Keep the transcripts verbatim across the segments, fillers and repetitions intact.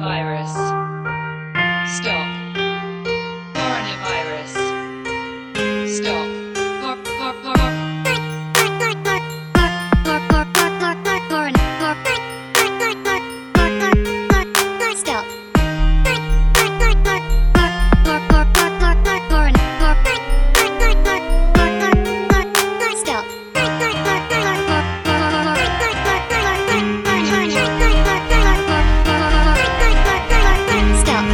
Coronavirus. Stop. Coronavirus. Stop. Cor- cor- cor- Stop. Stop. Stop.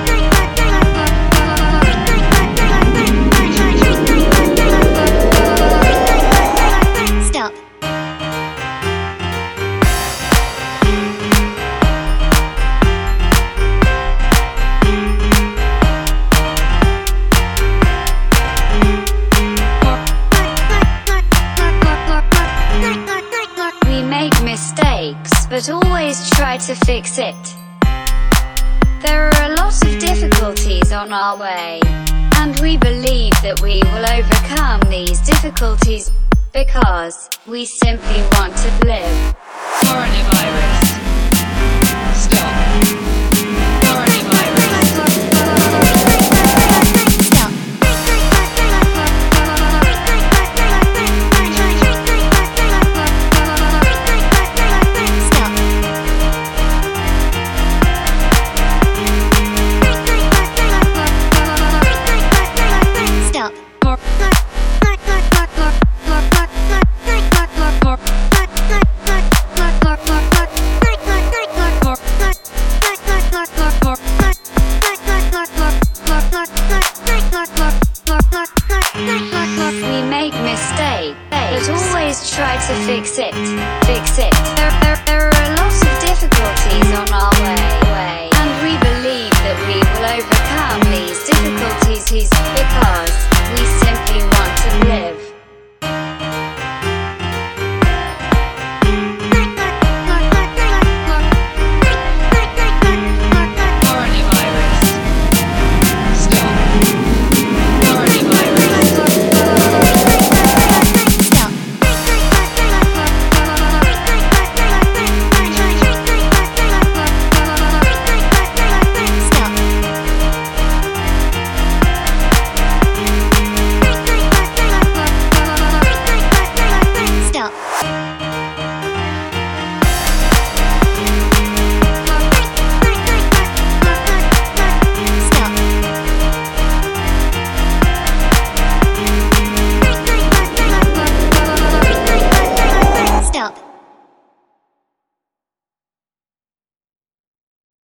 Stop. We make mistakes, but always try to fix it. There are a lot of difficulties on our way, and we believe that we will overcome these difficulties because we simply want to live. Coronavirus. Stop. Coronavirus. Stop. Stop. Stop. Cor- We make mistakes, but always try to fix it.